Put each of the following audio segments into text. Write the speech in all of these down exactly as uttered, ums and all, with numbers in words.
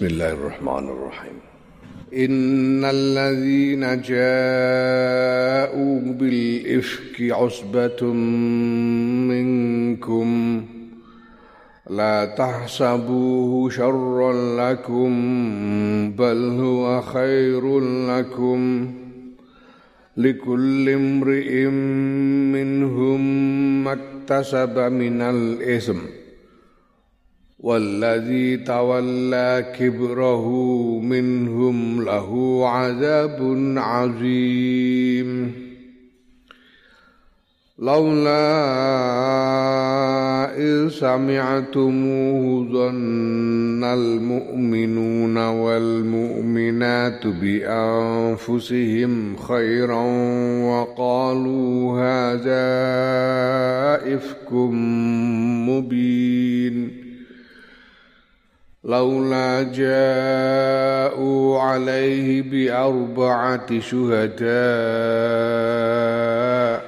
Bismillahirrahmanirrahim. Innal ladzina ja'u bil ifki usbatum minkum la tahsabuhu syarran lakum bal huwa khairun lakum likulli imri'in minhum maktasaba minal ism والذي تولى كبره منهم له عذاب عظيم لولا إذ سمعتموه ظن المؤمنون والمؤمنات بأنفسهم خيرا وقالوا هذا إفك مبين لولا جاءوا عليه بأربعة شهداء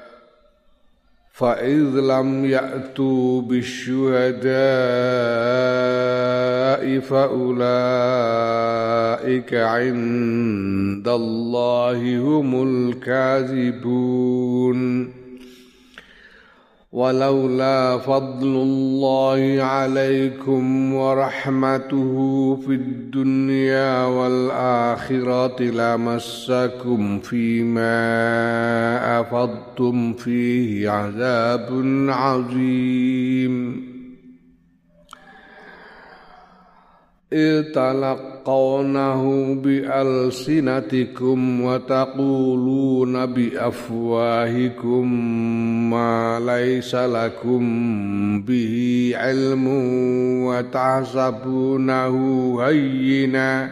فإذ لم يأتوا بالشهداء فأولئك عند الله هم الكاذبون ولولا فضل الله عليكم ورحمته في الدنيا والآخرة لمسكم فيما أفضتم فيه عذاب عظيم إذ تلقونه بألسنتكم وتقولون بأفواهكم ما ليس لكم به علم وتحسبونه هينا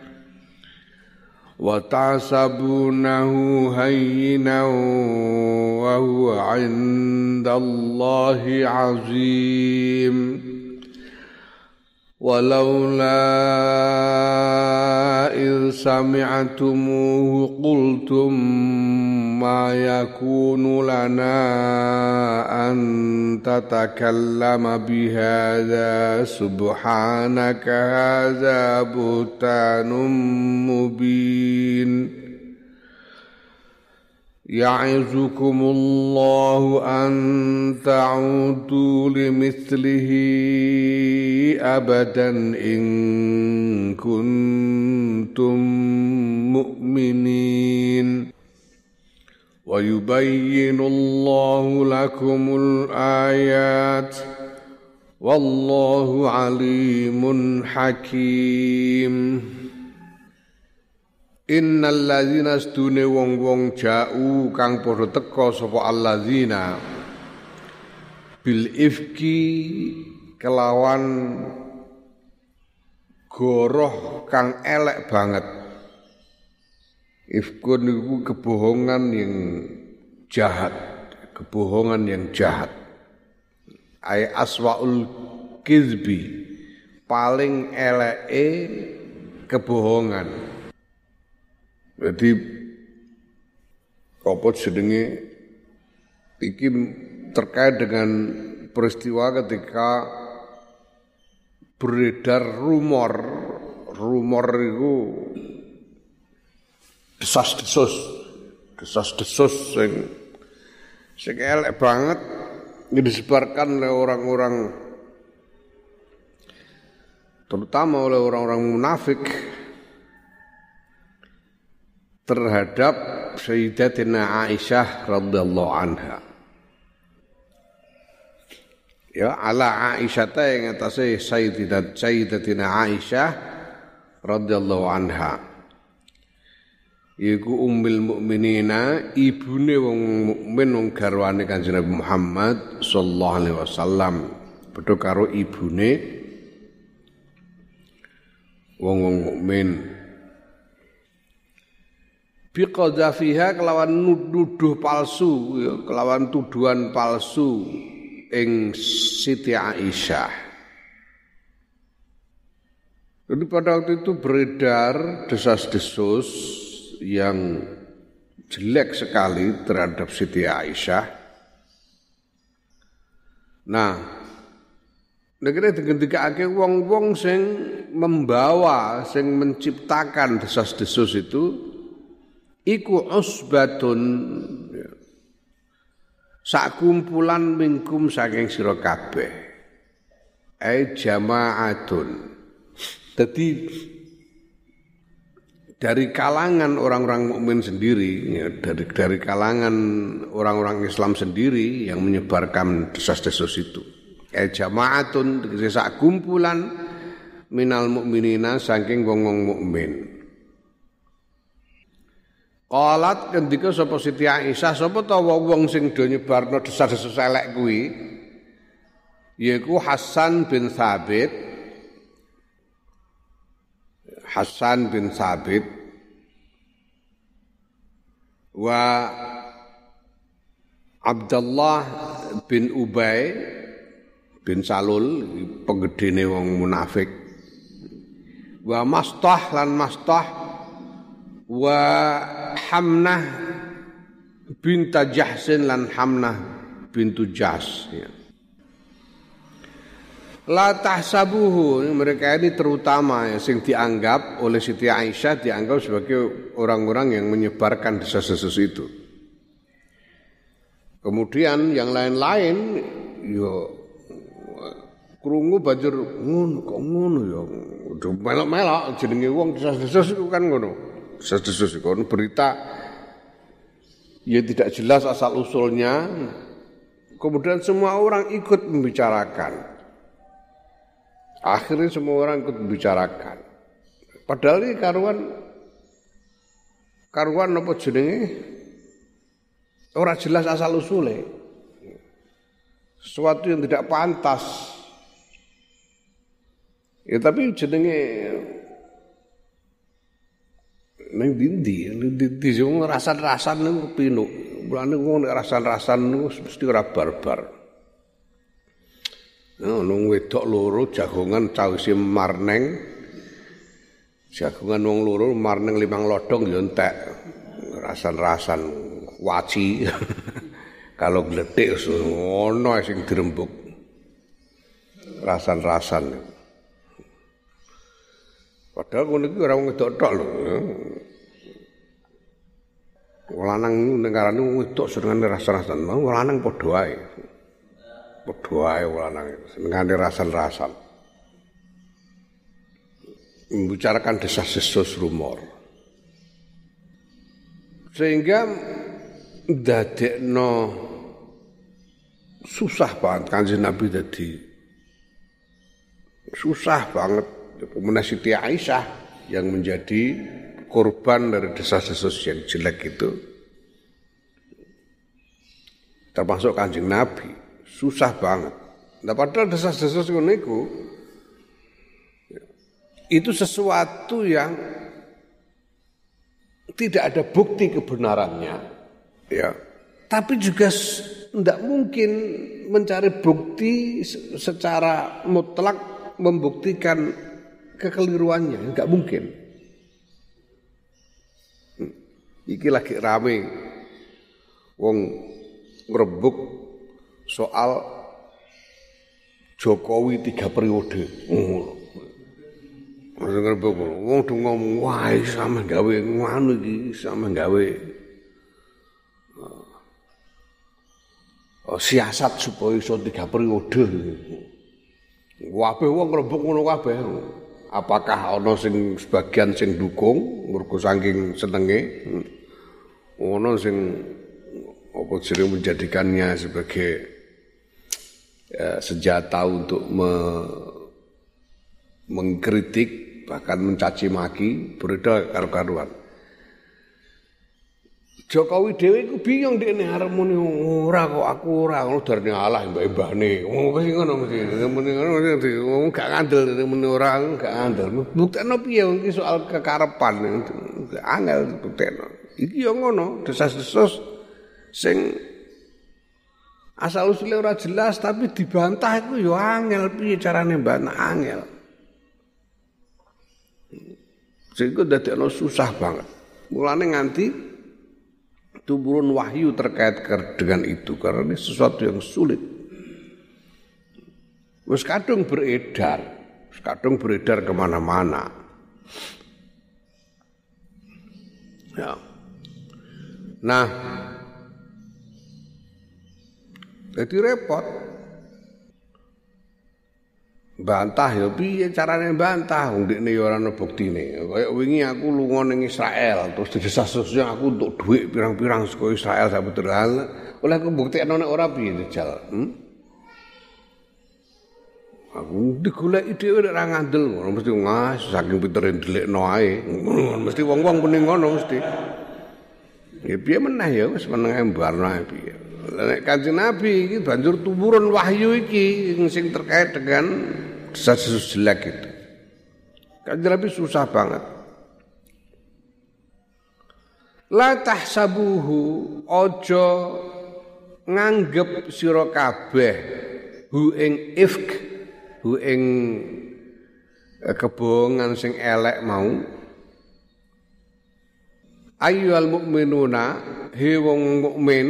وتحسبونه هينا وهو عند الله عظيم ولولا إذ سمعتموه قلتم ما يكون لنا أن تتكلم بهذا سبحانك هذا بهتان مبين يعظكم الله أن تعودوا لمثله أبدا إن كنتم مؤمنين ويبين الله لكم الآيات والله عليم حكيم Innal ladzina stune wong-wong ja'u kang padha teka sapa alladzina bil ifki kelawan goroh kang elek banget. Ifkun niku kebohongan yang jahat, kebohongan yang jahat. Ai aswaul kizbi, paling eleke kebohongan. Jadi apa jenenge iki terkait dengan peristiwa ketika beredar rumor rumor itu desas-desus desas-desus sing sing elek banget disebarkan oleh orang-orang terutama oleh orang-orang munafik terhadap Sayyidatina Aisyah radhiyallahu anha. Ya, ala Aisyah ta yang atase Sayyidat Sayyidatina Aisyah radhiyallahu anha. Iku ummul mukminina, ibune wong mukmin wong garwane Kanjeng Nabi Muhammad sallallahu alaihi wasallam. Padha karo ibune wong-wong mukmin. Biqadzafiha kelawan nuduh palsu ya, kelawan tuduhan palsu ing Siti Aisyah. Jadi pada waktu itu beredar desas-desus yang jelek sekali terhadap Siti Aisyah. Nah, Negara digendikake wong-wong sing membawa, sing menciptakan desas-desus itu iku usbatun sak kumpulan mingkum saking sira kabeh. Ai jama'atun. Jadi dari kalangan orang-orang mukmin sendiri, ya, dari dari kalangan orang-orang Islam sendiri yang menyebarkan desas-desus itu. Eh jamaatun sak kumpulan minal mukminina saking wong-wong mukmin. Qalat kendika sapa Siti Aisyah sapa ta wong sing do nyebarno desas-desus elek kuwi yaiku Hasan bin Thabit Hasan bin Thabit wa Abdullah bin Ubay bin Salul penggedene wong munafik wa Mastah lan Mastah wa Hamnah binta Jahsin lan Hamnah bintu Jas ya. La tahsabuhu mereka ini terutama ya, sing dianggap oleh Siti Aisyah dianggap sebagai orang-orang yang menyebarkan desas-desus itu. Kemudian yang lain-lain yo krungu banjur ngono kok ngono ya udah melok-melok jenenge wong desas-desus iku kan ngono. Desas-desus iku berita ya tidak jelas asal usulnya. Kemudian semua orang ikut membicarakan. Akhirnya semua orang ikut membicarakan. Padahal ini karuan karuan apa jenenge ora jelas asal usule. Sesuatu yang tidak pantas. Ya tapi jenenge ning ndi ning ndi wong rasan-rasan niku pinuk. Mulane wong nek rasan-rasan niku mesti ora barbar. Nah, nung wedok loro jagongan cawise marneng. Jagongan wong loro marneng limang lodong ya entek. Rasan-rasan waci. Kalau gledhek ono sing dirembuk. Rasan-rasan. Padahal ngono iki ora wong wedok tok lho. Wong lanang ning ngarane wong wedok senengane rasan-rasan, wong lanang padha wae. Padha wae wong lanang senengane rasan-rasan. Membicarakan desas-desus rumor. Sehingga ndadekno susah banget Kanjeng Nabi dadi susah banget Pemenang Siti Aisyah yang menjadi korban dari desas-desus yang jelek itu termasuk Kanjeng Nabi susah banget. Nah padahal desas-desus itu itu sesuatu yang tidak ada bukti kebenarannya ya. Tapi juga tidak mungkin mencari bukti secara mutlak membuktikan kekeliruannya, enggak mungkin. Iki lagi rame wong ngrebuk soal Jokowi tiga periode. Ngono. Ngrebuk wong do ngomong wah sampe gawe ngono iki, sampe gawe oh, siasat supaya iso tiga periode. Kabeh wong ngrebuk ngono kabeh. Apakah ana sing sebagian sing dukung mergo saking senenge, ana sing apa jenenge menjadikannya sebagai ya, senjata untuk me, mengkritik bahkan mencaci maki beredar karo-karuan. Jokowi dhewe iku bingung dekne arep muni ora kok aku ora ngono darane Allah mbah-mbahne. Wong kok ngono mesti muni ngono wong gak ngandel muni ora gak ngandel. Buktekno piye wong iki soal kekarepan. Angel buktekno. Iki yo ngono, desas-desus sing asal usule ora jelas tapi dibantah iku yo angel piye carane mbantah angel. Sehingga dadekno susah banget. Mulane nganti turun wahyu terkait dengan itu karena ini sesuatu yang sulit. Wis kadung beredar, wis kadung beredar kemana-mana. Ya. Nah, jadi repot. Bantah ya piye carane bantah wong ndekne ya ora ana buktine. Kaya wingi aku lunga ning Israel terus didesas-desasnya aku untuk dhuwit pirang-pirang saka Israel sak betul. Oleh aku buktekno nek ora piye jajal. Hmm? Aku digoleki dhewe nek ora ngandel ngono mesti ngas saking pintere ndelikno ae. Mesti wong-wong muni ngono mesti. Ya piye meneh ya wis meneng ae mbarno ae piye. Nek Kanjeng Nabi iki banjur tumurun wahyu iki sing terkait dengan desas-desus jelek itu. Kanjeng Nabi susah banget. La tahsabuhu aja nganggep sira kabeh hu ing ifk hu ing kebohongan sing elek mau. Ayyuhal mukminuna he wong mukmin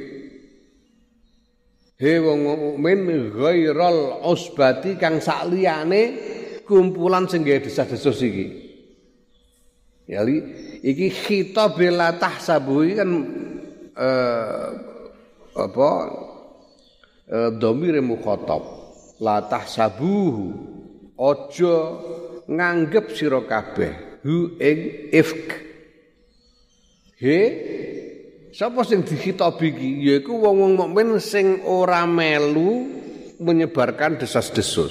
he wong mukmin ghairal usbati kang sakliyane kumpulan sing gawe desas-desus iki. Ya iki khitab la tahsabu kan eh, apa eh, dhamir mukhatab la tahsabuhu aja nganggep sira kabeh hu ing ifk. He sapa sing dikhitabi iki yaiku wong-wong mukmin sing ora melu menyebarkan desas-desus.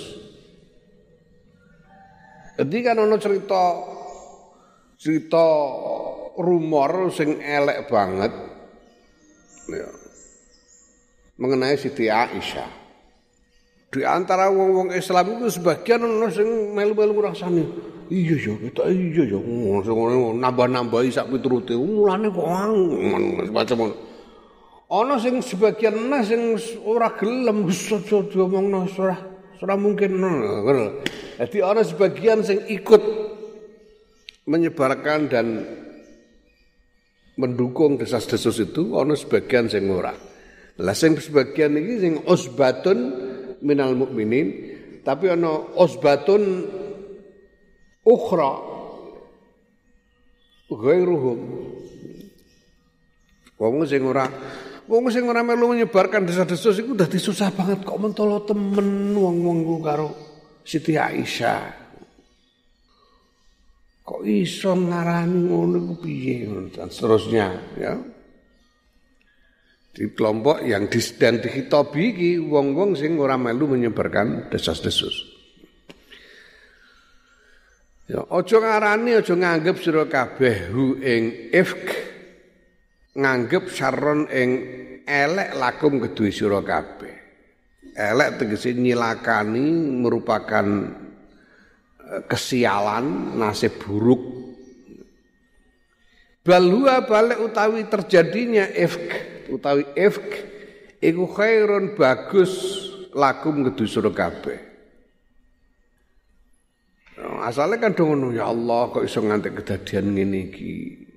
Jadi kan ana cerita cerita rumor sing elek banget ya, mengenai Siti Aisyah. Di antara wong-wong Islam itu sebagian ana sing melu-melu rasane. Iya ya, kita iya ya, nambah-nambahi sak piturute. Mulane kok macam ngono. Ana sing sebagian ana sing ora gelem wis aja diomongno ora ora mungkin ngono. Dadi ana sebagian sing ikut menyebarkan dan mendukung desas-desus itu, ana sebagian sing ora. Lah sing sebagian iki sing usbatun minal mukminin, tapi ana usbatun ukhra ghairuhum. Wong sing ora wong sing ora melu menyebarkan desas-desus iku dadi susah banget kok mentolo temen wong-wong ku karo Siti Aisyah. Kok iso ngarani ngono iku piye dan seterusnya ya. Di kelompok yang disdan dikhitabi iki wong-wong sing ora melu menyebarkan desas-desus. Ya, aja ngarani aja nganggep sira kabeh hu ing ifk nganggep saron ing elek lakum kedue sira kabeh. Elek tegese nyilakani merupakan kesialan, nasib buruk. Balua balik utawi terjadinya ifk utawi ifk iku khairun bagus lakum kedue sira kabeh. Asale kan ngono ya Allah kok iso nganti kedadian ngene iki.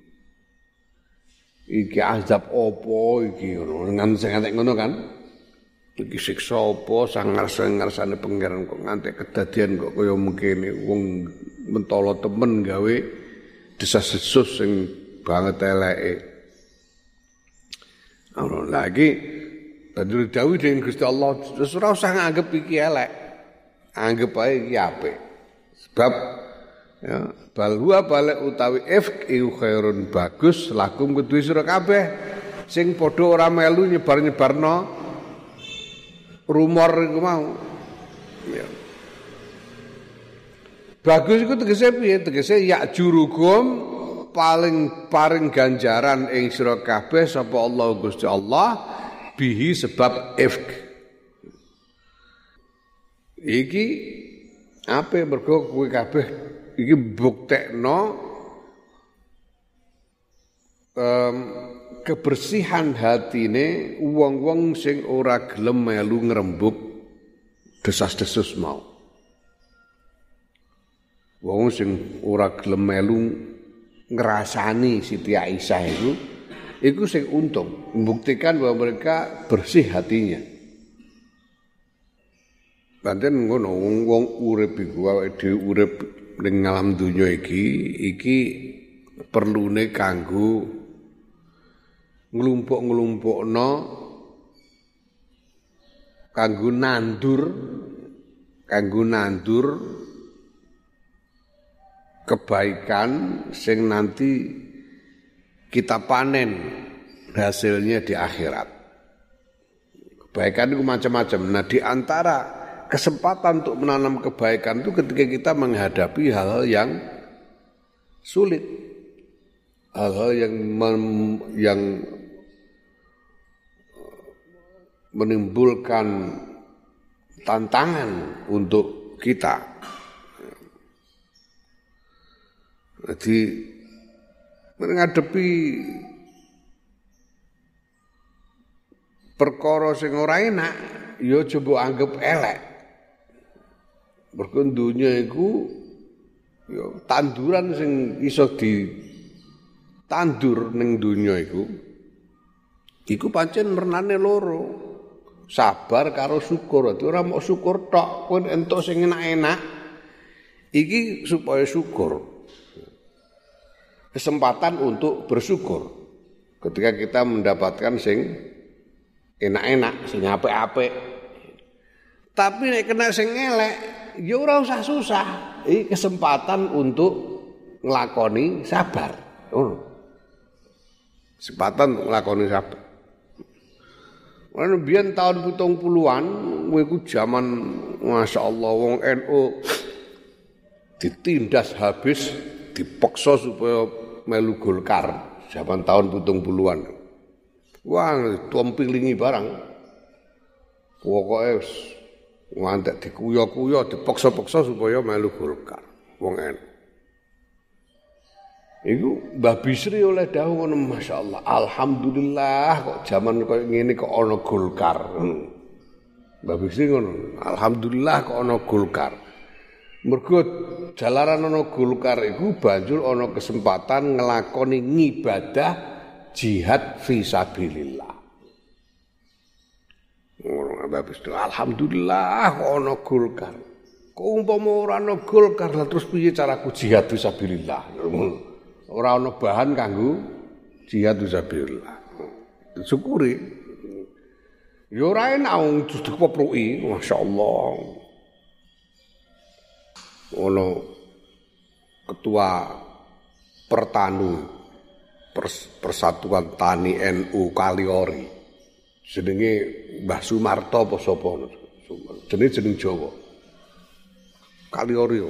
Iki azab opo iki ngono nganti nganti ngono kan. Iki siksa opo sangar-sangarsane pangeran kok nganti kedadian kok kaya mengkene wong mentolo temen gawe desas-desus sing banget eleke. Ora lagi tadi dawuh dening Gusti Allah wis ora usah nganggep iki elek. Anggap ae iki apik. Sebab ya bal huwa balik utawi ifk iku khairun bagus lakum kedue sira kabeh sing padha ora melu nyebar-nyebarno rumor iku mau. Ya. Bagus iku tegese piye? Tegese ya jurukum paling paring ganjaran ing sira kabeh sapa Allah Gusti Allah bihi sebab ifk. Iki apa mergo kowe kabeh iki buktekno um, kebersihan hatine wong-wong sing ora gelem melu ngrembug desas-desus mau. Wong sing ora gelem melu ngrasani Siti Aisyah itu iku sing untung membuktikan bahwa mereka bersih hatinya. Pancen ngono wong urip iku awake dhewe urip ning alam donya iki iki perlune kanggo nglumpuk-nglumpukno kanggo nandur kanggo nandur kebaikan sing nanti kita panen hasilnya di akhirat. Kebaikan itu macam-macam. Nah, di antara kesempatan untuk menanam kebaikan itu ketika kita menghadapi hal-hal yang sulit, hal-hal yang mem, yang menimbulkan tantangan untuk kita. Jadi menghadapi perkara sing ora enak ya coba anggap elek. Mergo dunya iku ya tanduran sing iso ditandur ning dunya iku iku pancen wernane loro. Sabar karo syukur. Dadi ora mok syukur tok, kowe entuk sing enak-enak iki supaya syukur. Kesempatan untuk bersyukur ketika kita mendapatkan sing enak-enak, sing apik-apik. Tapi nek kena sing elek, ya ora usah susah. Iki kesempatan untuk nglakoni sabar. Oh. Kesempatan untuk nglakoni sabar. Lan biyen tahun pitung puluhan, kowe iku jaman masyaallah wong N U ditindas habis, dipaksa supaya melu Golkar zaman tahun pitung puluhan. Wah, tuampilingi barang. Pokoke wis ngantek dikuyo-kuyo, dipaksa-paksa supaya melu Golkar. Wong N U. Iku Mbah Bisri oleh dawuh ngono masyaallah. Alhamdulillah kok zaman koyo ngene kok ana Golkar. Mbah Bisri ngono. Alhamdulillah kok ana Golkar. Mergo jalaran ana Golkar iku banjur ana kesempatan nglakoni ngibadah jihad fi sabilillah. Ngono Mbah Bisri. Alhamdulillah kok ana Golkar. Kok umpama ora ana Golkar lah terus piye caraku jihad fi sabilillah. Ora ana bahan kanggo jihad fisabilillah. Syukuri. Ya ora enak wong dikepruki, masyaallah. Ono ketua Pertanu Pers, Persatuan Tani N U Kaliori. Jenenge Mbah Sumarto apa sapa? Jenenge jeneng Jawa. Kaliori.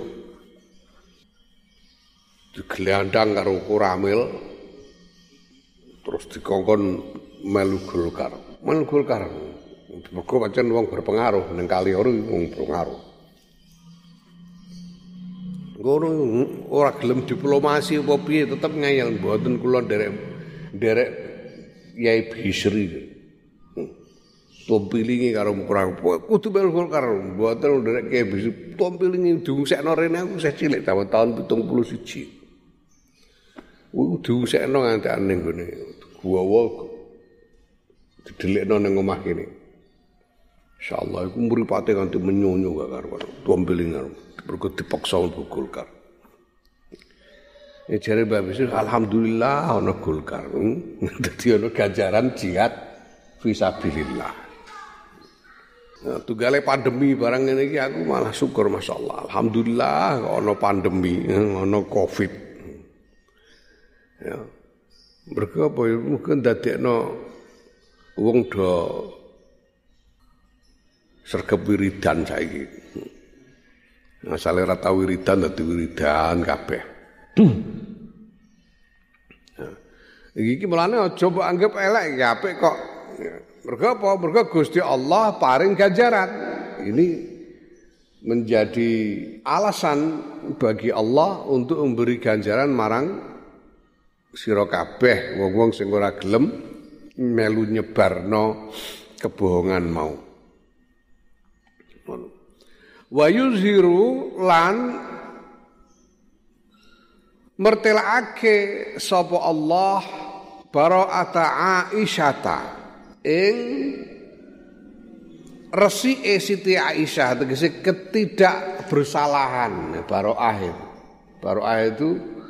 Digelandang karo Koramil terus dikongkon melu Golkar. Melu Golkar. Mergo pancen wong berpengaruh ning Kaliori wong berpengaruh. Ngono ora gelem diplomasi apa piye tetep ngayal mboten kula nderek nderek Yai Bisri. Tompilingi karo kurang kudu melu Golkar mboten nderek Yai Bisri. Tompilingi diungsekno rene aku isih cilik tahun pitung puluh siji. Ku diusekno ngantek ning gone guwa didelikno ning omah kene. Insyaallah iku mripate kanthi menyonyo gak karo tompilingan mergo dipaksa untuk Golkar. Ya jare Mbak Bisri alhamdulillah ana Golkar. Dadi ana ganjaran jihad fisabilillah. Nah, tunggale pandemi barang ngene iki aku malah syukur masyaallah. Alhamdulillah kok ana pandemi, ana Covid. Ya. Mergo apa ya mungkin dadekno wong do sregep wiridan saiki. Asale ora tau wiridan dadi wiridan kabeh. Nah, iki mulane aja mbok anggap elek iki apik kok. Mergo apa? Mergo Gusti Allah paring ganjaran. Ini menjadi alasan bagi Allah untuk memberi ganjaran marang sira kabeh wong-wong sing ora gelem melu nyebarno kebohongan mau. Wa yuzhiru lan mertelake sapa Allah bara'ata Aisyata ing resike Siti Aisyah tegese ketidakbersalahan baroah itu. Baroah itu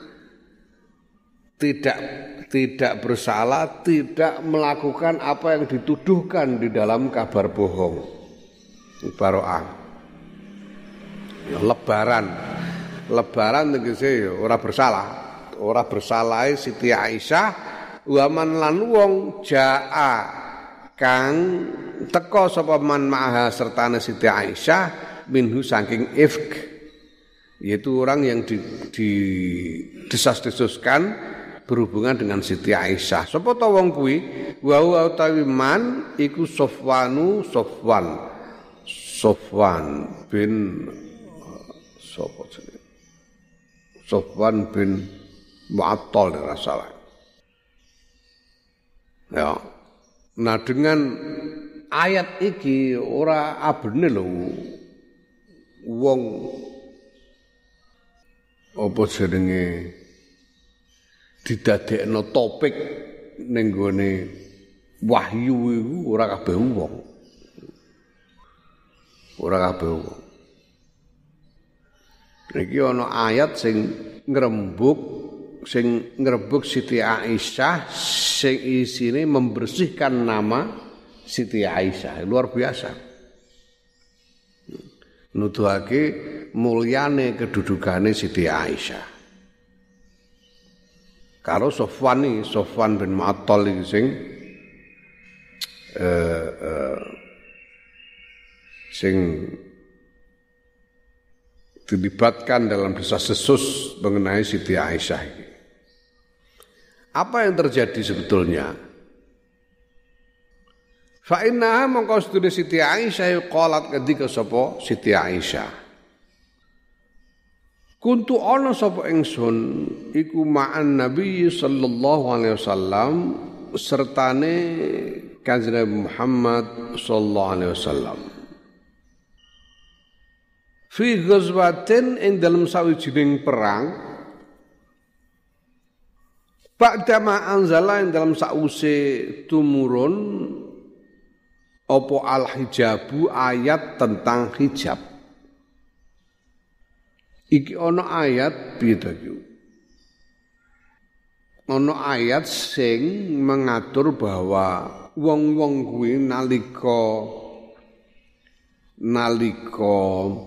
tidak tidak bersalah, tidak melakukan apa yang dituduhkan di dalam kabar bohong. Baroah. Ya, lebaran. Lebaran tegese ya ora bersalah. Ora bersalah Siti Aisyah waman lan wong jaa kang teka sapa man maha sertane Siti Aisyah minhu saking ifk, yaitu orang yang di, di desas-desuskan berhubungan dengan Siti Aisyah. Sapa ta wong kuwi? Wa wa utawi man iku Sofwanu Sofwan. Sofwan bin sapa jenenge? Sofwan bin Mu'attal nek salah. Ya. Nah dengan ayat iki ora abene lho wong apa jenenge didadekno topik ning gone wahyu iku ora kabeh wong. Ora kabeh wong. Iki ana ayat sing ngrembug sing ngrembug Siti Aisyah sing isine membersihkan nama Siti Aisyah. Luar biasa. Nuduhake mulyane kedudukane Siti Aisyah. Karo Sofwan iki, Sofwan bin Mu'attal iki sing eh, eh, sing dilibatkan dalam desas-desus mengenai Siti Aisyah ini. Apa yang terjadi sebetulnya? Fa innaha mongko sedune Siti Aisyah qalat ketika sapa Siti Aisyah. Kuntu ana sapa ingsun iku ma'an Nabi sallallahu alaihi wasallam sertane Kanjeng Nabi Muhammad sallallahu alaihi wasallam. Fi ghazwatin ing dalam sawijining perang ba'dama anzala ing dalam sause tumurun apa al-hijabu ayat tentang hijab. Iki ana ayat piye ta iki? Ana ayat sing mengatur bahwa wong-wong kuwi nalika nalika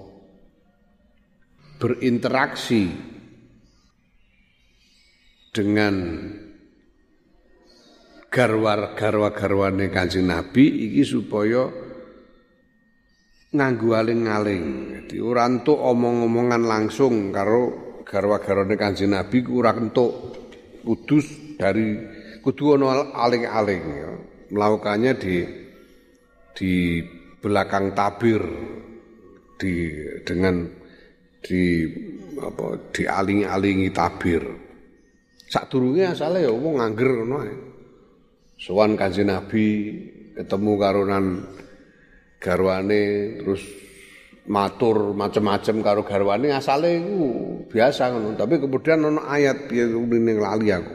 berinteraksi dengan garwa-garwa-garwane Kanjeng Nabi iki supaya nganggo aling-aling. Dadi ora entuk omong-omongan langsung karo garwa-garwane Kanjeng Nabi ku ora entuk. Kudus dari kudu ana aling-aling ya. Melakukannya di di belakang tabir di dengan di apa dialing-alingi tabir. Sadurunge asale ya wong ngangger ngono ae. Sowan Kanjeng Nabi ketemu karonan garwane terus matur macam-macam karo garwane asale iku biasa ngono, tapi kemudian ana ayat piye ning lali aku.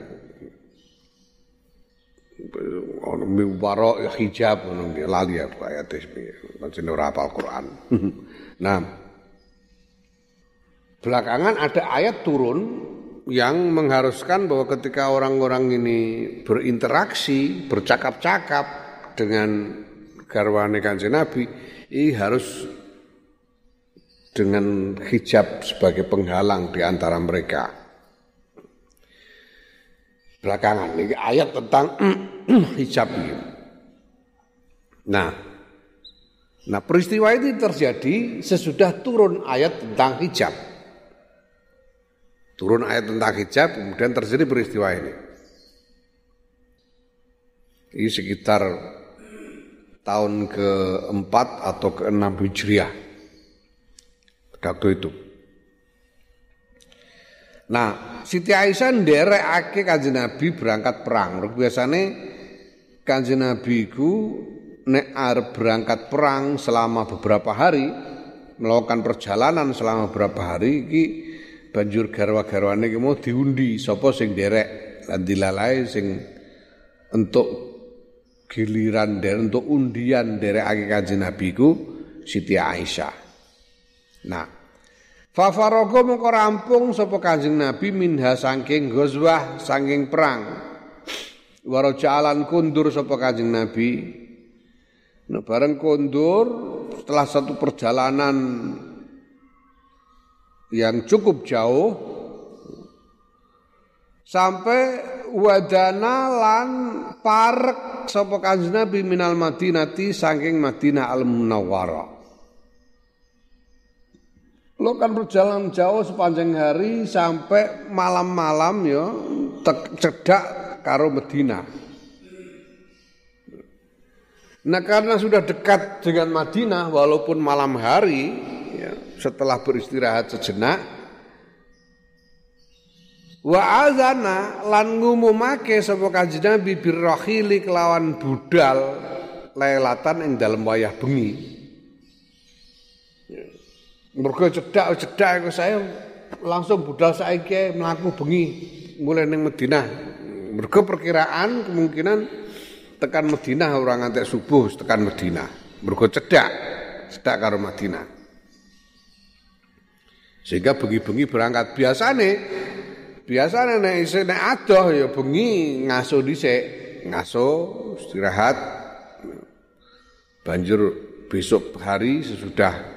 Ono miwara hijab ngono lali aku ayate piye. Pancen ora hafal Quran. Nah, belakangan ada ayat turun yang mengharuskan bahwa ketika orang-orang ini berinteraksi, bercakap-cakap dengan garwane Kanjeng Nabi, ini harus dengan hijab sebagai penghalang di antara mereka. Belakangan ini ayat tentang hijab ini. Nah, nah peristiwa ini terjadi sesudah turun ayat tentang hijab. Turun ayat tentang hijab, kemudian terjadi peristiwa ini. Ini sekitar tahun keempat atau keenam Hijriah. Waktu itu. Nah, Siti Aisyah nderekake Kanjeng Nabi berangkat perang. Biasane Kanjeng Nabi iku nek arep berangkat perang selama beberapa hari, melakukan perjalanan selama beberapa hari iki banjur garwa-garwane iki mau diundi sapa sing nderek lan dilalae sing entuk giliran derek untuk undian derekake Kanjeng Nabi ku Siti Aisyah. Nah, fa faraga mongko rampung sapa Kanjeng Nabi minha saking ghazwah saking perang. Warajalan kundur sapa Kanjeng Nabi. Nah, bareng kundur setelah satu perjalanan yang cukup jauh sampai wadana lan parek sapa Kanjeng Nabi minal Madinati saking Madinah Al-Munawwarah. Lo kan berjalan jauh sepanjang hari sampai malam-malam ya cedak karo Madinah. Nah karena sudah dekat dengan Madinah walaupun malam hari ya, setelah beristirahat sejenak wa azana lan ngumumake sapa Kanjeng Nabi birrahili kelawan budal lailatan ing dalem wayah bengi. Mergo cedak-cedak saya langsung budal saiki mlaku bengi mulai ning Madinah. Mergo perkiraan kemungkinan tekan Madinah ora ngantek subuh tekan Madinah. Mergo cedak, cedak karo Madinah. Sehingga bengi-bengi berangkat biasane biasane nek isih nek adoh ya bengi ngaso dhisik, ngaso istirahat. Banjur besok hari sesudah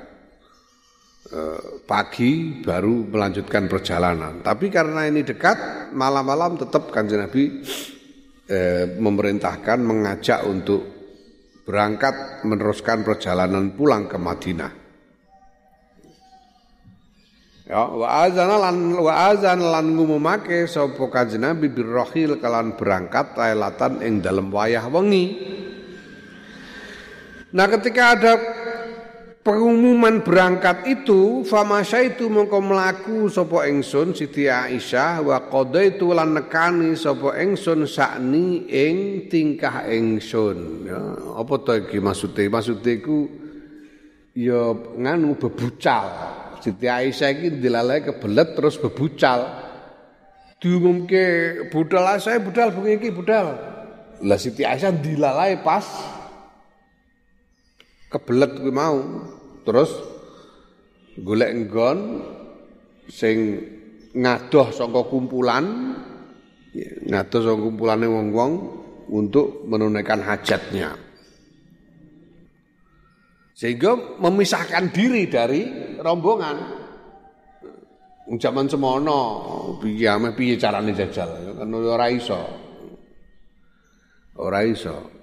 pagi baru melanjutkan perjalanan. Tapi karena ini dekat, malam-malam tetap Kanjeng Nabi eh, memerintahkan, mengajak untuk berangkat meneruskan perjalanan pulang ke Madinah. Ya, wa azana lan wa azan lan ngumumake sapa Kanjeng Nabi birrahil kalan berangkat lailatan ing dalem wayah wengi. Nah, ketika ada pengumuman berangkat itu famasyaitu mongko mlaku sapa ingsun Siti Aisyah wa qadaitu lan nekani sapa ingsun sakni ing tingkah ingsun ya apa to iki maksude maksude iku ya nganu bebucal Siti Aisyah iki dilalai kebelet terus bebucal diumumke budal saya budal bengi iki budal lah Siti Aisyah dilalai pas kebelet kuwi mau terus golek nggon sing ngadoh saka kumpulan ngadoh saka kumpulane wong-wong untuk menunaikan hajatnya sehingga memisahkan diri dari rombongan zaman semono piye ame piye carane jajal kan ora iso ora iso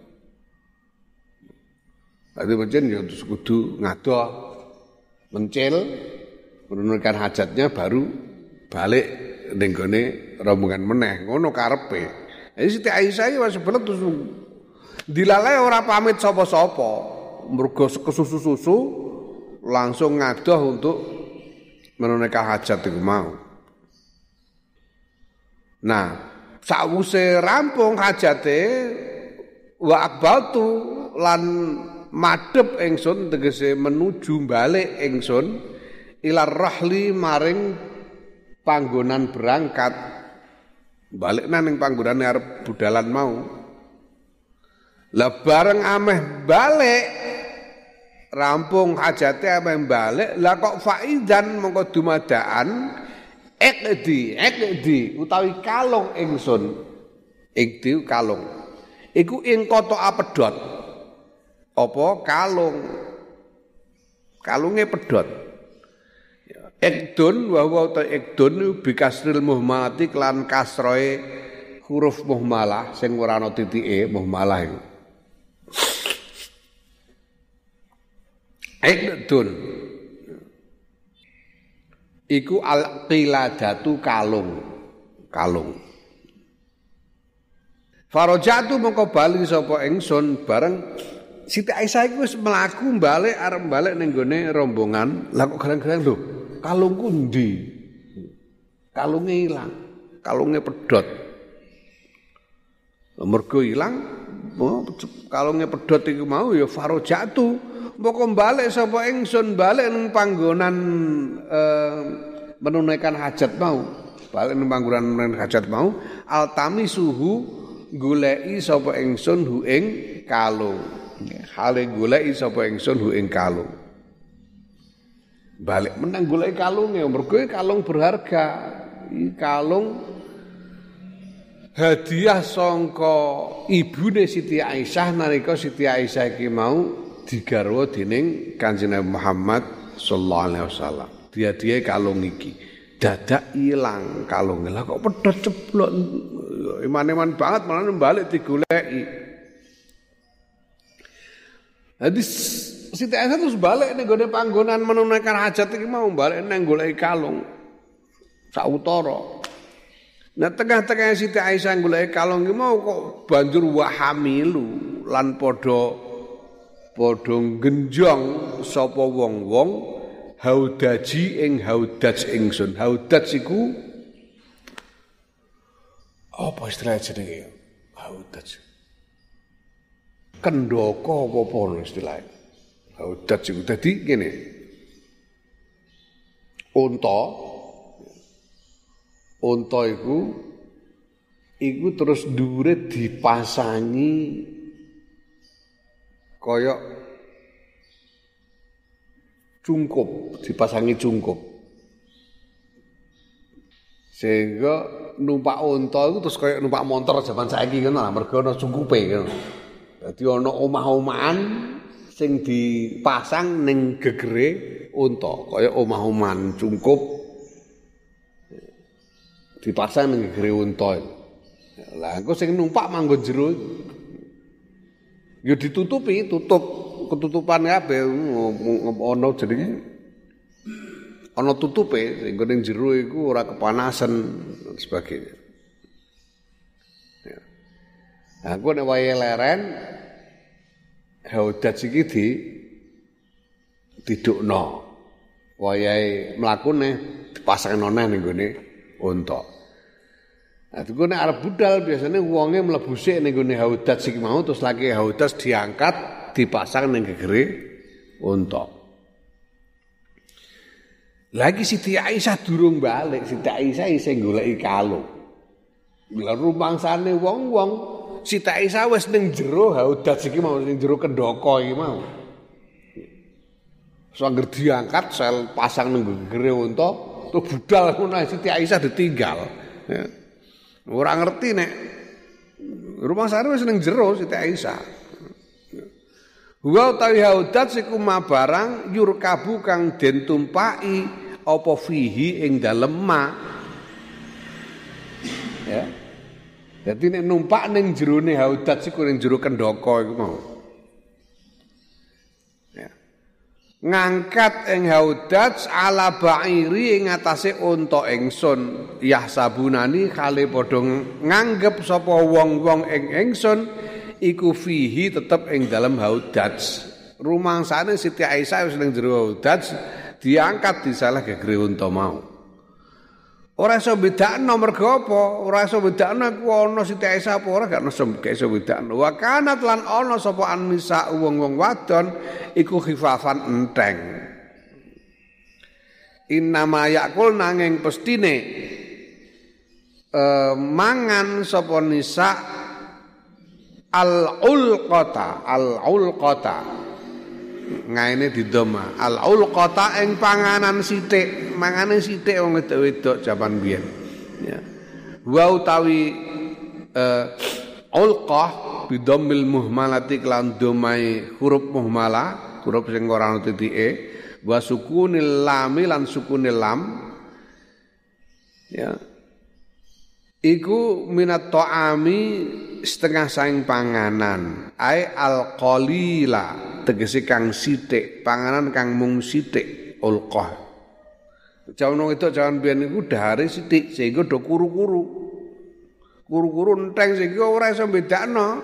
Tapi pancen ya kudu ngadoh mencil menunaikan hajatnya baru balik ning gone rombongan meneh ngono karepe. Jadi Siti Aisyah iki wis belet terus dilalai ora pamit sapa-sapa. Mergo kesusu-susu langsung ngadoh untuk menunaikan hajat iku mau. Nah, sakwuse rampung hajate wa aqbaltu lan madhep ingsun tegese menuju balik ingsun ilar rahli maring panggonan berangkat balik nang panggonane arep budalan mau lah bareng ameh balik rampung hajate ameh balik lah kok faidan mongko dumadaan ekdi ekdi utawi kalung ingsun ekdi kalung iku ing kota pedhot apa kalung kalunge pedhot ekdun wa wa ta ekdun bi kasril muhmalati lan kasroe huruf muhmalah sing ora ana titike muhmalah iku ekdun iku al qiladatu kalung kalung farajatu mongko bali sapa ingsun bareng Siti Aisyah iku wis mlaku balik arep balik ning gone rombongan. Lah kok garang-garang lho, kalungku ndi? Kalunge ilang. Kalunge pedhot. Mergo ilang, kalunge pedhot iku mau ya farojatu. Mboko balik sapa ingsun balik ning panggonan eh, menunaikan hajat mau. Balik ning panggonan menunaikan hajat mau, altami suhu goleki sapa ingsun hu ing kalung. Hale goleki sapa ingsun hu ing kalung. Balik menang goleki kalunge mergo kalung berharga. Iki kalung hadiah sangka ibune Siti Aisyah nalika Siti Aisyah iki mau digarwa dening Kanjeng Nabi Muhammad sallallahu alaihi wasallam. Dia-dia kalung iki dadak ilang kalunge. Lah kok pedhot ceblok iman-iman banget malah balik digoleki. Jadi Siti Aisyah terus balik ning gone panggonan menunaikan hajat iki mau balik nang goleki kalung sautara. Nah tengah-tengah Siti Aisyah golek kalung iki mau kok banjur wahamilu lan padha padha genjong sapa wong-wong haudaji ing haudaj ingsun. Haudaj iku apa istilah jenenge? Haudaj. Kendhaka apa istilahnya? Haudaj iku dadi ngene. Unta Unta iku iku terus dhuwure dipasangi kaya cungkup, dipasangi cungkup. Sehingga numpak unta iku terus kaya numpak montor jaman saiki ngono lah, mergo ana cungkupe ngono. Dadi ana omah-omahan sing dipasang ning gegere unta, kaya omah-omahan cungkup dipasang ning gegere unta. Lah engko sing numpak manggon jero ya ditutupi, tutup ketutupan kabeh ana jenenge ana tutupe sing ning jero iku ora kepanasan dan sebagainya. Ya. Nah, engko nek wayahe leren haudaj iki di didukno. Wayahe mlakune dipasangno neh ning gone unta. Nah, itu nek arep budal biasanya wonge mlebu sik ning gone haudaj iki mau terus lagi haudaj diangkat dipasang ning gegere unta. Lagi Siti Aisyah durung balik, Siti Aisyah isih goleki kalung. Lah rumangsane wong-wong Siti Aisyah wis ning jero haudaj iki mau ning jero kendhaka iki mau. Sangger diangkat sel pasang ning gegere unta terus budal ngono Siti Aisyah ditinggal. Ya. Ora ngerti nek rumah sare wis ning jero Siti Aisyah. Wa utawi haudaj iku mabarang yurkabu kang den tumpaki apa fihi ing dalem ma. Ya. Dadi nek numpak ning jerone haudaj iku ning jero kendhaka iku mau. Ya. Ngangkat ing haudaj ala ba'iri ing atase unta ingsun yahsabunani kale padha nganggep sapa wong-wong ing ingsun iku fihi tetep ing dalem haudaj. Rumangsane Siti Aisyah wis ning jero haudaj diangkat disalah gegere unta mau. Ora iso bedakno mergo apa? Ora iso bedakno iku ana Siti Aisyah apa ora gak iso bedakno. Wa kanat lan ana sapa annisa wong-wong wadon iku khifafan enteng. Innama yakul nanging pestine eh, mangan sapa nisa al-ulqata, al-ulqata. Ngaene didoma al-ulqata ing panganan sithik, mangane sithik wong wedok-wedok jaman biyen. Ya. Wa utawi eh, ulqah bidammil muhmalati lan domai huruf muhmalah, huruf sing ora ana titike, wa sukunil lam lan sukunil lam. Ya. Iku minat ta'ami setengah saing panganan, ai al-qalila tegese kang sithik, panganan kang mung sithik, ulqah. Jaman itu jaman biyen iku dahare sithik sehingga do kuru-kuru. Kuru-kuru enteng sehingga ora iso bedakno.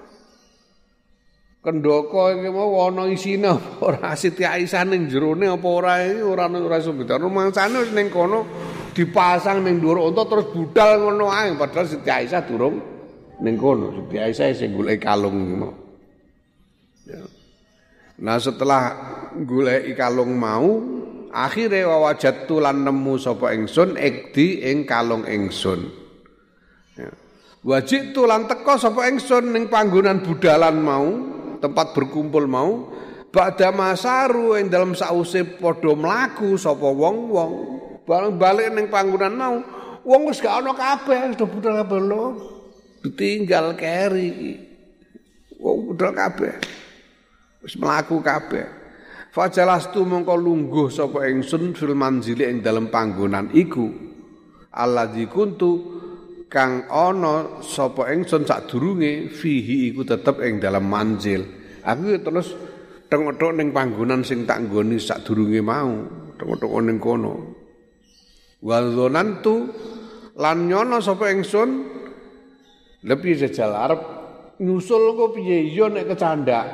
Kendhaka iki mau ana isine ora Siti Aisyah ning jerone apa ora iki ora ora iso bedakno. Mangsane wis ning kono dipasang ning dhuwur unta terus budal ngono ae padahal Siti Aisyah durung ning kono. Siti Aisyah sing golek kalung iki mau. Ya. Nah setelah golek kalung mau akhire wawajatu lan nemu sapa ingsun ikdi ing kalung ingsun. Ya. Wajib tu lan teka sapa ingsun ning panggonan budalan mau, tempat berkumpul mau, ba'da masaru ing dalem sause padha mlaku sapa wong-wong. Bareng balik ning panggonan mau, wong wis gak ana kabeh, sudah budal kabeh lho. Ditinggal keri. Wong budal kabeh. Wis mlaku kabeh. Fajalastu mongko lungguh sapa ingsun fil manzili ing dalem panggonan iku. Alladzi kuntu kang ana sapa ingsun sadurunge fihi iku tetep ing dalam manzil. Aku terus tengok-tengok ning panggonan sing tak nggoni sadurunge mau, tengok-tengok ning kono. Wadzonantu lan nyono sapa ingsun lebih jajal arep nyusul kok piye ya nek kecandak.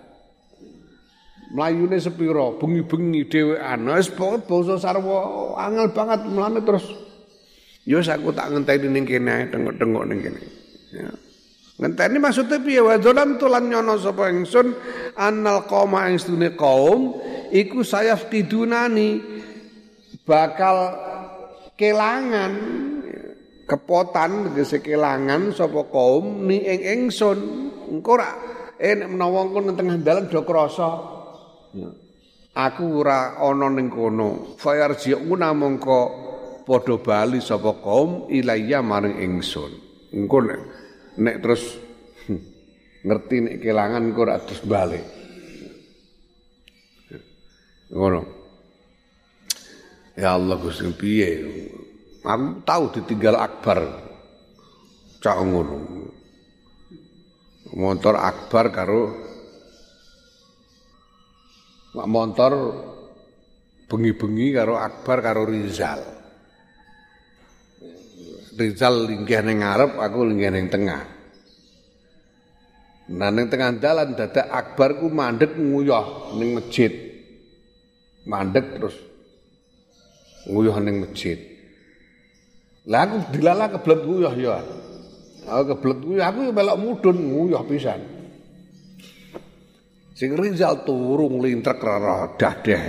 Mlayune sepira, bengi-bengi dhewean. Wis pokoke basa sarwa angel banget mlane terus ya aku tak ngenteni ning kene tengok-tengok ning kene. Ya. Ngenteni maksudnya piye wadzolan tulan nyono sapa ingsun annal qauma ing sedune kaum iku sayaftidunani bakal kelangan kepotan tegese kelangan sapa kaum ni ing ingsun engko ora eh nek menawa engko nang tengah dalan do krasa aku ora ana ning kono fayarji'una mongko padha bali sapa kaum ilayya maring ingsun engko nek, nek terus hm, ngerti nek kelangan engko ora terus bali ngono. Ya Allah Gusti piye? Aku tahu ditinggal Akbar. Cak ngono. Motor Akbar karo mak motor bengi-bengi karo Akbar karo Rizal. Rizal linggih ning ngarep, aku linggih ning tengah. Nah ning tengah dalan dadak Akbar ku mandeg nguyah ning masjid. Mandeg terus nguyuh ning masjid. Lah aku dilala kebelet nguyuh ya. Aku kebelet nguyuh, aku melok mudhun nguyuh pisan. Sing Rizal turu nglintrek rara dadeh.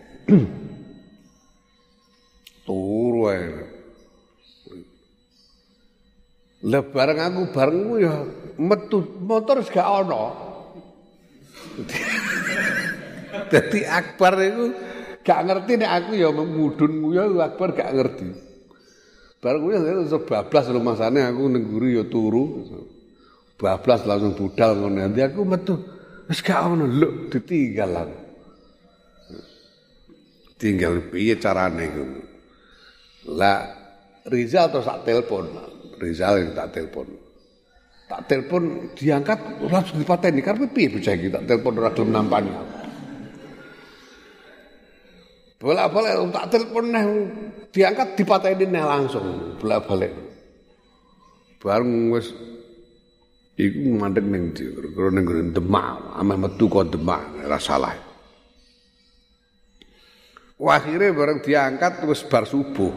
Turu ae. Lah bareng aku bareng nguyuh metu motor wis gak ana. Dadi Akbar iku gak ngerti nek aku ya mudhun nguyuh Akbar gak ngerti. Bareng nguyuh sebablas rumasane aku ning guru ya turu. Bablas langsung budal ngono. Nanti aku metu wis gak ono lho ditinggal aku. Tinggal piye carane iku. Lah Rizal terus tak telepon. Rizal tak telepon. Tak telepon diangkat langsung dipateni karep piye bocah iki tak telepon ora gelem nampani. Bolak-balik tak telepon neh diangkat dipateni neh langsung bolak-balik. Bareng wis iku mandeg ning ndi karo ning Demak, ameh metu kok Demak ora salah. Wah akhire bareng diangkat terus bar subuh.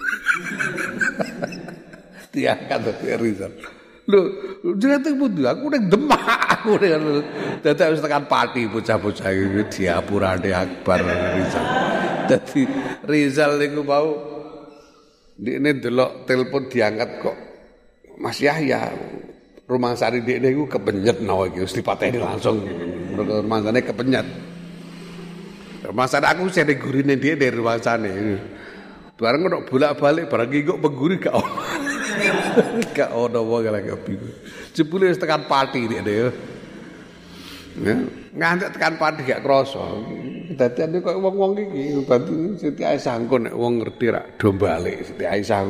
Diangkat dari Rizal. Lho, jenenge pundi? Aku ning Demak, aku ning dadak wis tekan Pati bocah-bocah iki diapurane Akbar Rizal. Dadi Rizal niku mau ndekne delok telepon diangkat kok Mas Yahya. Rumangsane ndekne iku kepenyet nawa iki wis dipateni langsung. Rumangsane kepenyet. Rumangsane aku sing gurine ndekne rumangsane. Bareng kok bolak-balik bareng iki kok pengguri gak ono. Gak ono wong lagi bingung. Jebule wis tekan Pati ndekne ya. Ya, ngantek tekan Pati gak krasa. Dadane kok wong-wong iki bantu Siti Aisyah engko nek wong ngerti rak do balik Siti Aisyah.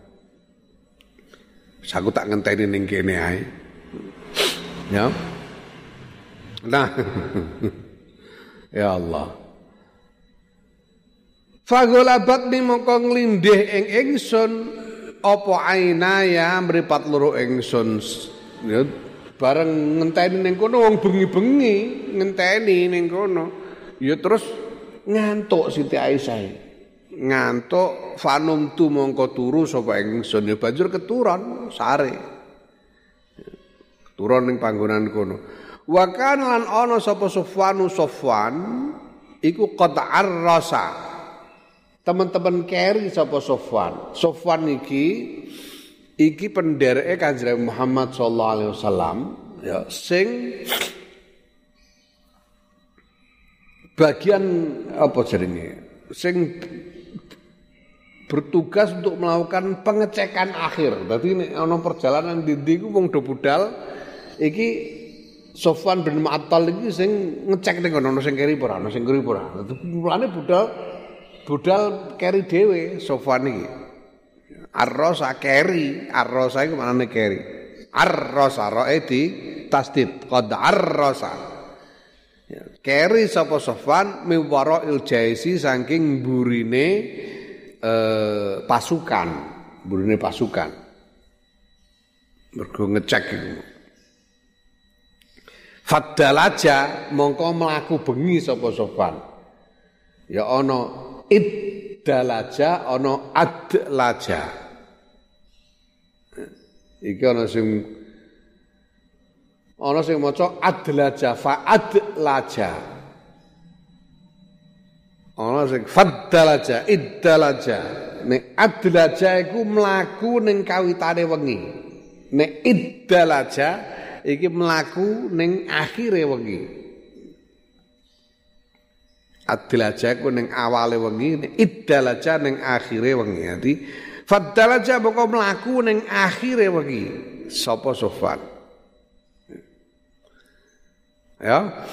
Aku tak ngenteni ning kene ae. Ya. Nah. Ya Allah. Fagolabat ni mongko nglindih ing ingsun apa ainaya mripat loro ingsun. Ya bareng ngenteni ning kono wong bengi-bengi ngenteni ning kono. Ya terus ngantuk Siti Aisyah. Ngantuk fanum tu mongko turu sapa ingsun ya banjur keturon sare. Turun ning panggonan kono. Wa kan lan ana sapa Sufwanu Sufwan iku qata'ar rasa. Teman-teman keri sapa Sufwan. Sufwan iki iki pendereke Kanjeng Muhammad sallallahu alaihi wasallam ya sing bagian apa jenenge sing bertugas untuk melakukan pengecekan akhir. Dadi nek ana perjalanan ndi ku wong do budal iki Sofwan bin Mu'attal iki sing ngecek ning ana sing keri ora ana sing keri ora. Dadi mulane budal budal keri dhewe Sofwan iki. Ar-Rosa keri, Ar-Rosa iku maknane keri. Ar-Rosa rae di tasdid qad Ar-Rosa. Ya, keri sapa Sofwan miwara il-Jaisi saking burine eh, pasukan, burine pasukan. Mergo ngecek iku. Faddalaja mongko mlaku bengi sapa Sofwan. Ya ana iddalaja ana adlaja. Iki ana sing ana sing maca adlaja fa adlaja. Ana sing faddalaja iddalaja. Nek adlaja iku mlaku ning kawitane wengi. Nek iddalaja iki mlaku ning akhire wengi. Adlaja iku ning awale wengi, nek iddalaja ning akhire wengi. Dadi faddalaja moko mlaku ning akhire wengi. Sapa Sofwan? Ya.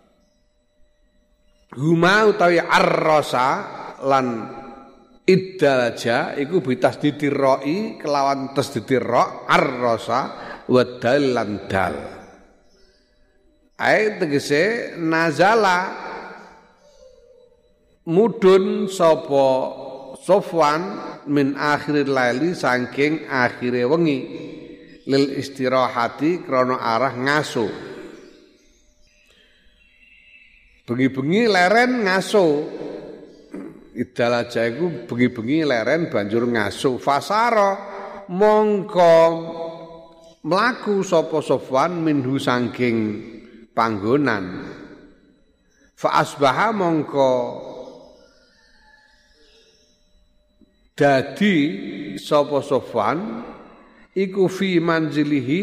Huma utawi ar-Rosa lan iddalaja iku bitasdidir ra'i kelawan tasdidir ra ar-Rosa wa dal lan dal. Ai tegese nazala mudun sapa Sofwan min akhiril laili saking akhire wengi lil istirahati krana arah ngaso. Bengi-bengi leren ngaso. Idalaja iku bengi-bengi leren banjur ngaso. Fasara mongko mlaku sapa Sofwan minhu saking panggonan. Fa asbaha mongko dadi sapa Sofwan iku fi manzilihi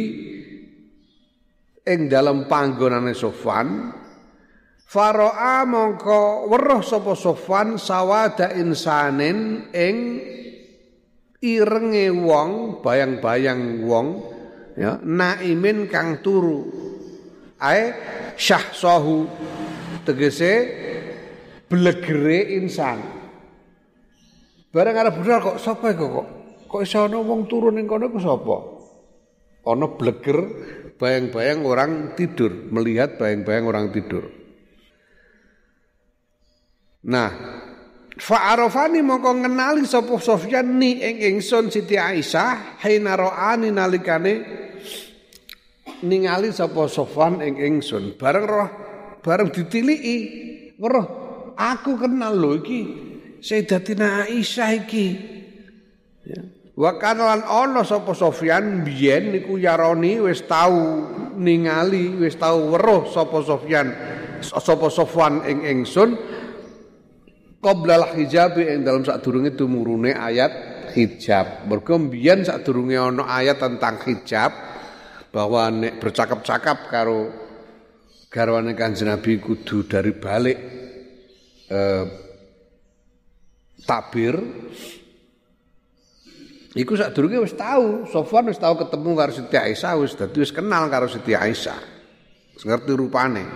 ing dalem panggonane Sofwan. Faro'a mongko weruh sapa Sofwan sawada insanin ing irenge wong bayang-bayang wong ya naimin kang turu ae syahsahu tegese blegere insan. Bareng arep budal kok sapa iku kok? Kok iso ana wong turu ning kono iku sapa? Ana bleger bayang-bayang orang tidur, melihat bayang-bayang orang tidur. Nah, fa'arafani mongko ngenali sapa Sofyan ni ing ingsun Siti Aisyah hina ra'ani nalikane ningali sapa Sofwan ing ingsun. Bareng roh, bareng ditiliki, weruh aku kenal lho iki Sayyidatina Aisyah iki. Ya. Wa kana lan ana sapa Sofyan biyen niku yaroni wis tau ningali, wis tau weruh sapa Sofyan sapa Sofwan ing ingsun qoblal hijab ing dalam sadurunge tumurune ayat hijab. Mergo mbiyen sadurunge ana ayat tentang hijab bahwa nek bercakap-cakap karo garwane Kanjeng Nabi kudu dari balik eh, takbir. Iku sadurunge wis tahu, Sofwan wis tahu ketemu karo Siti Aisyah, wis dadi wis kenal karo Siti Aisyah. Wis ngerti rupane.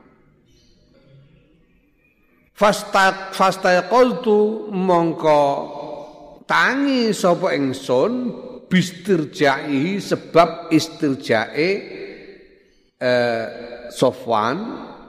Fasta fastaqaltu mongko tangi sapa ingsun bistirja'i sebab istirjae eh, Sofwan.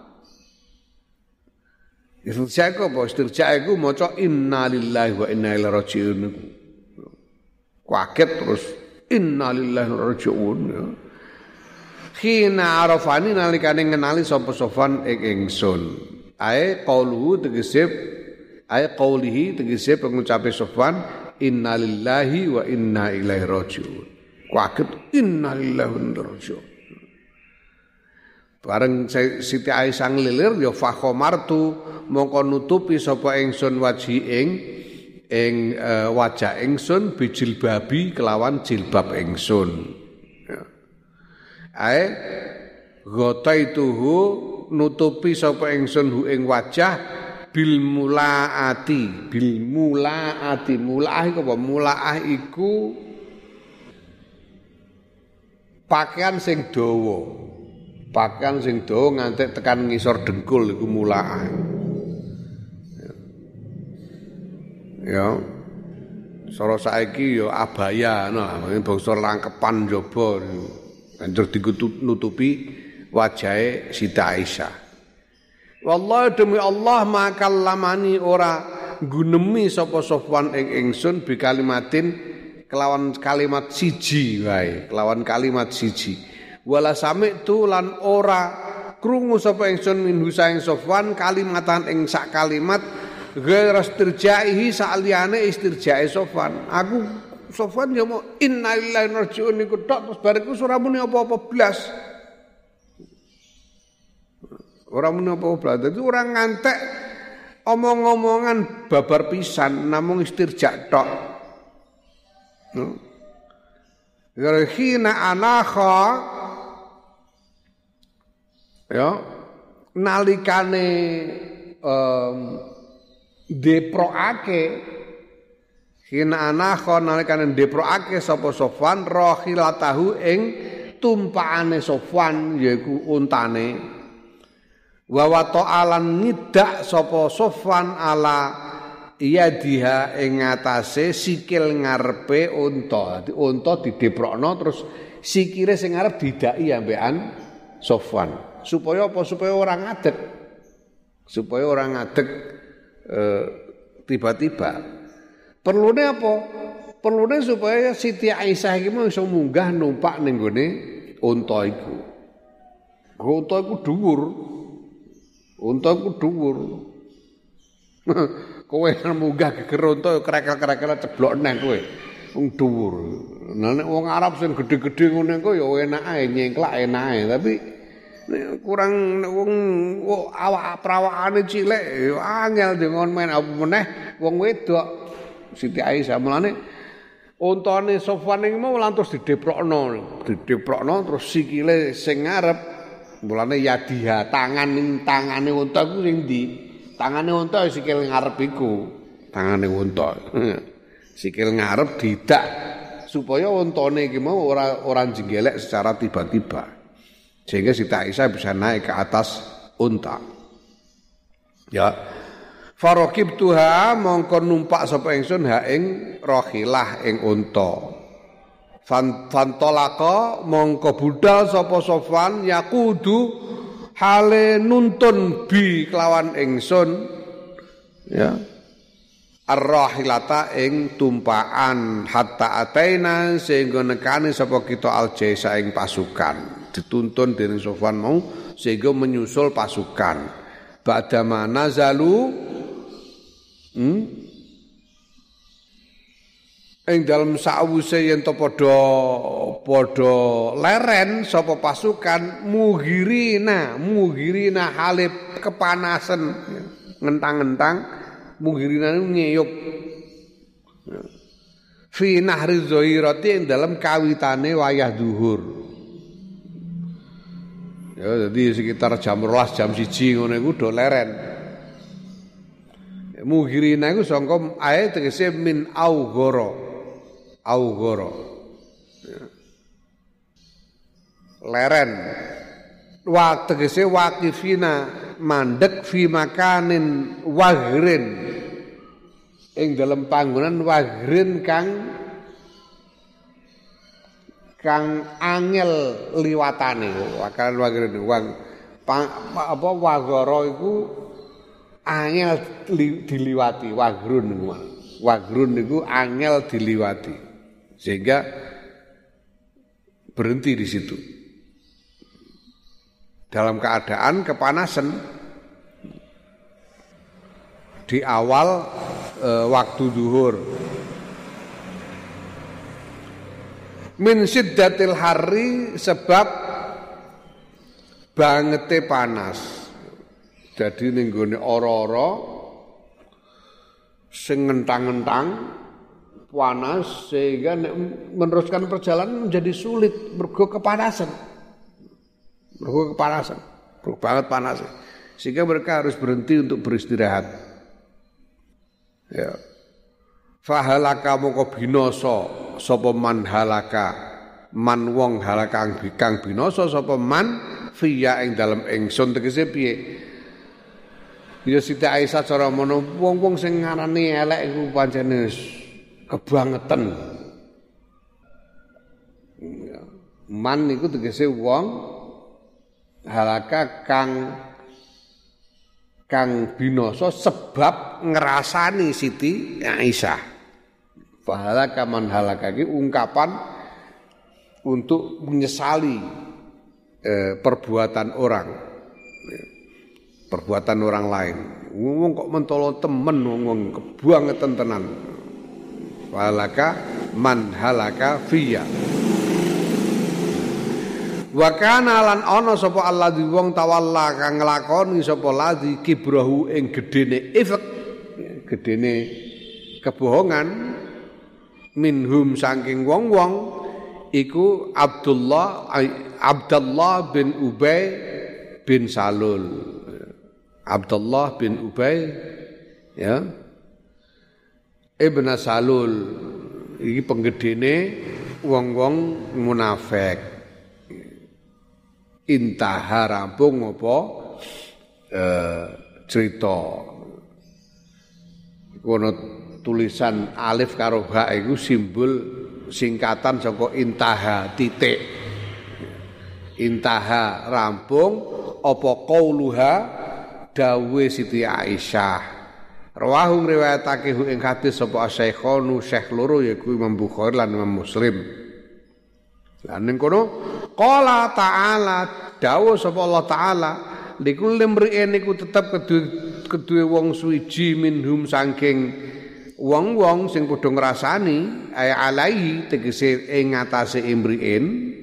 Istirjae ku apa? Istirjae ku maca innalillahi wa inna ilaihi raji'un. Kaget terus innalillahi wa inna ilaihi raji'un. Khina arafani nalikane ngenali sapa Sofwan ing ingsun. Ae qauluhu tegese ae qaulihi tegese pengucape Sofwan innalillahi wa inna ilaihi raji'un. Kaget innalillahi wa inna raji'un. Bareng Siti Aisyah ngelilir ya fakhomartu mongko nutupi sapa ingsun waji ing ing uh, wajah ingsun bijil babi kelawan jilbab ingsun. Ya. Ae ghaitaituhu nutupi sapa ingsun hu ing wajah bil mulaati, bil mulaati. Mulaah iku apa? Mulaah iku pakaian sing dawa. Pakaian sing dawa nganti tekan ngisor dengkul iku mulaah. Ya. Sora saiki ya abaya nah, bangsa rangkepan njaba. Banjur ditutupi wajahe Siti Aisyah. Wallahi demi Allah makallamani ora gunemi sapa Sofwan ing ingsun bi kalimatin kelawan kalimat siji wae, kelawan kalimat siji. Wala sami'tu lan ora krungu sapa ingsun minhu saing Sofwan kalimatan ing sak kalimat ghairu istirjaihi saliyane istirjae Sofwan. Aku Sofwan ya mau inna lillahi wa inna ilaihi raji'un niku tok terus bariku ora muni apa-apa blas. Ora muni apa-apa blas. Dadi ora ngantek omong-omongan babar pisan namung istirja tok. Gara khina anakha ya nalikane um, deproake hina anakha nalikane deproake sapa Sofwan rahilatahu ing tumpakane Sofwan yaiku untane wa wata'alan ngidak sapa Sofwan ala yadiha ing ngatasé sikil ngarepe unta. Dadi unta dideprokno terus sikile sing ngarep didaki ambekan Sofwan supaya apa supaya ora ngadeg supaya ora ngadeg e, tiba-tiba perlune apa perlune supaya Siti Aisyah iki mau iso munggah numpak ning gone unta iku unta iku dhuwur unta iku dhuwur kowe munggah geger unta krekel-krekel ceblok nang kowe wong dhuwur. Nah nek wong Arab sing gedhe-gedhe ngene iku ya enak ae nyengklak enak ae tapi kurang wong awak prawakane cilik ya angel dengan main apa meneh wong wedok Siti Aisyah mulane untane Sofwan iki mau lantus dideprokno dideprokno terus sikile sing ngarep mulane yadiha tangan ning tangane unta ku sing ndi tangane unta sikil ngarep iku tangane unta sikil ngarep didak supaya untane iki mau ora ora jenggelek secara tiba-tiba sehingga Siti Aisyah bisa naik ke atas unta. Ya. Faraqibtuha mongko numpak sapa ingsun ha ing rahilah ing unta. Fantolaka mongko budal sapa Sofwan yakudu hale nuntun bi kelawan ingsun ya. Ar-rahilata ing tumpakan hatta ataina sehingga nekani sapa kita al-jaisa ing pasukan. Dituntun dening Sofwan mau sehingga menyusul pasukan. Ba'dama nazalu hmm? ing dalem sawise yen to padha padha leren sapa pasukan mughirina mughirina halip kepanasan ngentang-ngentang mughirina ngeyup fi nahri zahirati ing dalem kawitane wayah zuhur. Ya jadi sekitar jam rolas jam siji ngono iku do leren. Mughirina iku sangka ae tegese min aughara. Aughara. Ya. Leren. Wa tegese waqifina mandek fi makanin wagrin. Ing dalem panggonan wagrin kang kang angel liwatane wakalan wagrin wang apa wagara iku angel li, diliwati wagrun wagrun niku angel diliwati sehingga berhenti di situ dalam keadaan kepanasan di awal e, waktu zuhur. Min siddatil harri sebab bangete panas. Jadi ning gone ora-ora sing ngentang-ngentang panas sehingga meneruskan perjalanan menjadi sulit mergo kepanasan. Mergo kepanasan, mergo banget panas. Sehingga mereka harus berhenti untuk beristirahat. Ya. Fahalaka moko binasa sapa man halaka man wong halaka kang binasa sapa man fiya ing dalem ingsun tegese piye. Ya Siti Aisyah cara mono wong-wong sing ngarani elek iku pancene kebangetan. Man iku tegese wong halaka kang kang binasa sebab ngrasani Siti Aisyah. Halaka man halaka iki ungkapan untuk menyesali eh, perbuatan orang. Perbuatan orang lain. Wong kok mentolo temen wong kebangetan tenan. Halaka man halaka fiya. Wa kana lan ana sapa alladzi wong tawalla kang nglakoni sapa ladzi kibrahu ing gedene ifk, gedene kebohongan minhum saking wong-wong iku Abdullah Abdullah bin Ubay bin Salul. Abdullah bin Ubay ya Ibn Salul iki penggedene wong-wong munafik. Intaha rampung apa eh, cerita kono tulisan alif karo ha iku simbol singkatan saka intaha titik. Intaha rampung apa qauluha dawe Siti Aisyah. Rawahu riwayatake ing hadis sapa Syekhonu Syekh loro yaiku Imam Bukhari lan Imam Muslim. Lan ning kono qala ta'ala dawuh sapa Allah taala likulli mri'in iku tetep kedue kedue wong suwiji minhum saking wong-wong sing padha ngrasani ay alaihi tegese ing ngatasé imri'in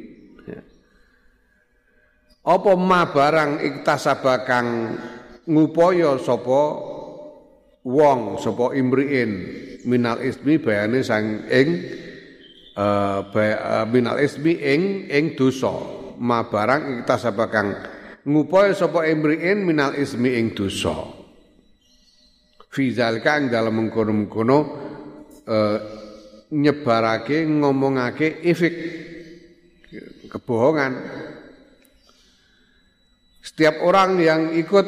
apa ma barang iktasaba kang ngupaya sapa wong sapa imri'in minal ismi bayane sang ing Uh, uh, minal ismi ing ing dosa ma barang iktasaba kang ngupaya sapa imriin minal ismi ing dosa fi zalika ing dalem mengkono-mengkono uh, nyebarake ngomongake ifik kebohongan. Setiap orang yang ikut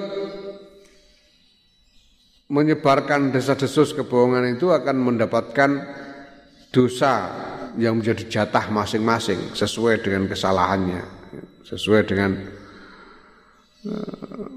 menyebarkan desas-desus kebohongan itu akan mendapatkan dosa yang menjadi jatah masing-masing sesuai dengan kesalahannya, sesuai dengan uh,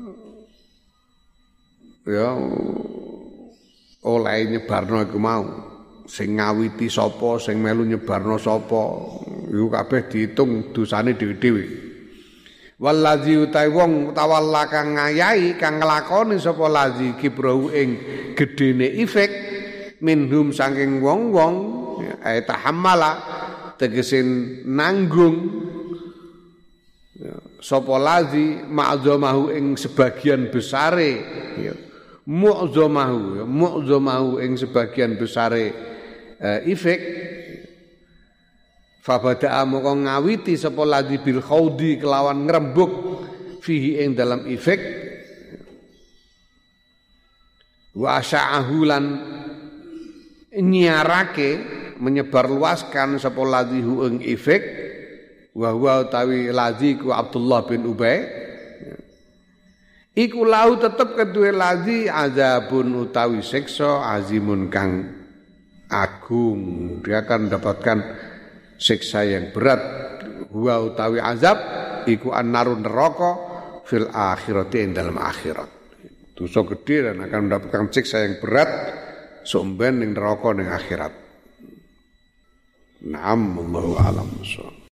ya oleh nyebarno iku mau sing ngawiti sapa sing melu nyebarno sapa iku kabeh diitung dosane dhewe-dhewe. Wallazi utai wong tawalla kang ngayahi kang nglakoni sapa lazi kibrau ing gedene ifek minhum saking wong-wong ay tahammala tegese nanggung ya, sapa lazi ma'zamahu ing sebagian besare ya mu'zamahu ya mu'zamahu ing sebagian besare uh, ifek fabada'a moko ngawiti sapa lazi bil khaudi kelawan ngrembug fihi ing dalam ifek wa asya'ahu lan nyiarake menyebarluaskan sapa ladhihu ing ifek wa huwa utawi ladhi ku Abdullah bin Ubay iku lahu tetep kedue ladhi azabun utawi siksa azimun kang agung. Dia akan mendapatkan siksa yang berat. Huwa utawi azab iku annarun neraka fil akhirati ing dalam akhirat. Dosa gede dan akan mendapatkan siksa yang berat somben ning neraka ning akhirat. Naam, wallahu a'lam.